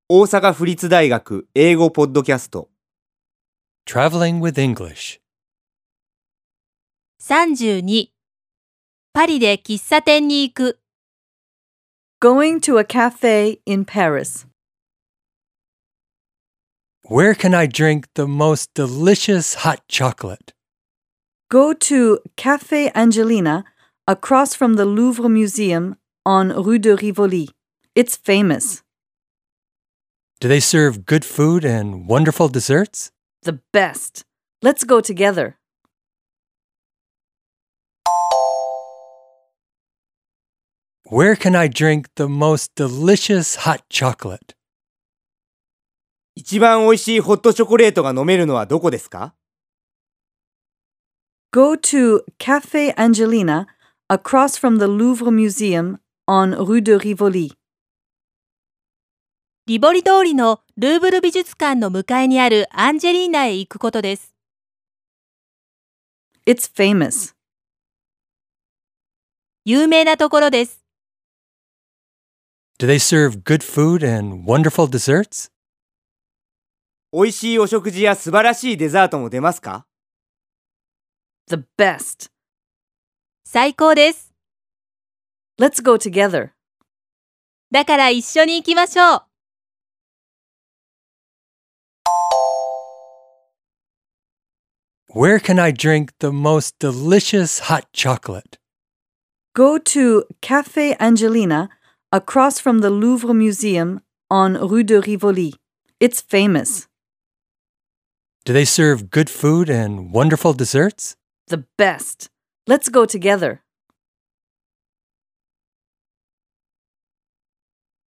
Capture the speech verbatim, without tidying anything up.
大阪府立大学英語ポッドキャスト Traveling with English. さんじゅうにパリで喫茶店に行く Going to a cafe in Paris. Where can I drink the most delicious hot chocolate? Go to Café Angelina across from the Louvre Museum on Rue de Rivoli. It's famous. Do they serve good food and wonderful desserts? The best. Let's go together. Where can I drink the most delicious hot chocolate? 一番おいしいホットチョコレートが飲めるのはどこですか？ Go to Café Angelina across from the Louvre Museum on Rue de Rivoli. リボリ通りのルーブル美術館の向かいにあるアンジェリーナへ行くことです。 It's famous. 有名なところです。 Do they serve good food and wonderful desserts? おいしいお食事や素晴らしいデザートも出ますか？ The best. 最高です。 Let's go together. だから一緒に行きましょう。 Where can I drink the most delicious hot chocolate? Go to Café Angelina across from the Louvre Museum on Rue de Rivoli. It's famous. Do they serve good food and wonderful desserts? The best. Let's go together.